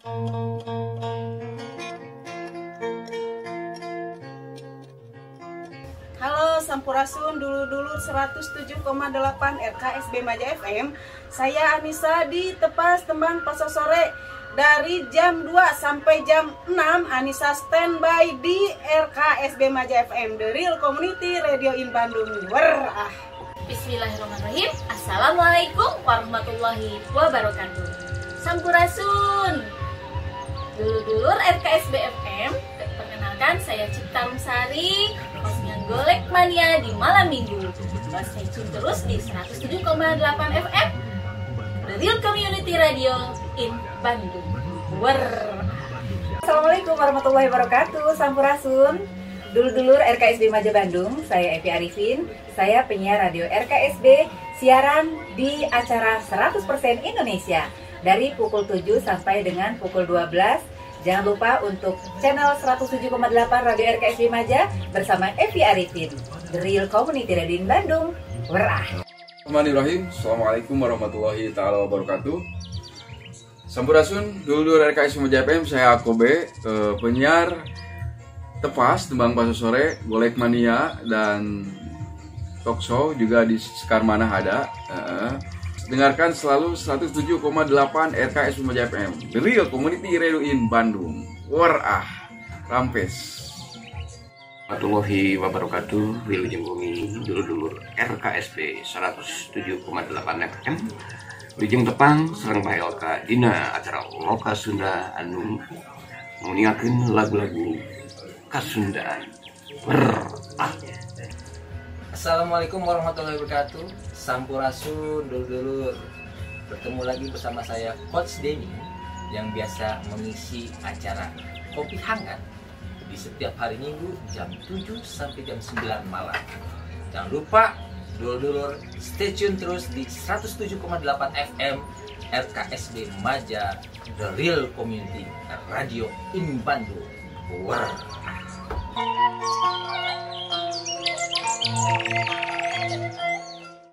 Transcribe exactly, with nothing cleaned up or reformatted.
Halo Sampurasun, dulur-dulur seratus tujuh koma delapan R K S B Maja F M. Saya Anissa di Tepas Tembang Pasar Sore. Dari jam dua sampai jam enam Anissa standby di R K S B Maja F M, The Real Community Radio in Bandung. Wah. Bismillahirrahmanirrahim. Assalamualaikum warahmatullahi wabarakatuh. Sampurasun, dulur-dulur R K S B F M. Perkenalkan, saya Cipta Rumsari, hostnya Golek Mania di malam minggu. Stay tune terus di seratus tujuh koma delapan F M, The Real Community Radio in Bandung. Wer. Assalamualaikum warahmatullahi wabarakatuh. Sampurasun, dulur-dulur R K S B Maja Bandung. Saya Evi Arifin. Saya penyiar radio R K S B, siaran di acara seratus persen Indonesia dari pukul tujuh sampai dengan pukul dua belas. Jangan lupa untuk channel seratus tujuh koma delapan Radio R K S B Maja bersama Evi Arifin, The Real Community Radio in Bandung. Werah. Bismillahirrahmanirrahim. Assalamualaikum warahmatullahi taala wabarakatuh. Sampurasun, dulur R K S B Maja F M. Saya Akobe, eh, penyiar Tepas Tembang Pasar Sore, Golek Mania, dan talk show juga di Sekar Mana ada. Eh, dengarkan selalu seratus tujuh koma delapan R K S B Maja F M, The Real Community Radio in Bandung. Warah, rampes. Warahmatullahi wabarakatuh. Wilujeng bumi dulur-dulur R K S B seratus tujuh koma delapan F M. Wilujeng tepang sareng Pak L K dina acara Loka Sunda anu nguningkeun lagu-lagu Kasundaan. Berah. Assalamualaikum warahmatullahi wabarakatuh. Sampurasun, dulur-dulur. Bertemu lagi bersama saya Coach Denny yang biasa mengisi acara Kopi Hangat di setiap hari Minggu jam tujuh sampai jam sembilan malam. Jangan lupa dulur-dulur stay tune terus di seratus tujuh koma delapan F M R K S B Maja, The Real Community Radio in Bandung. Wow.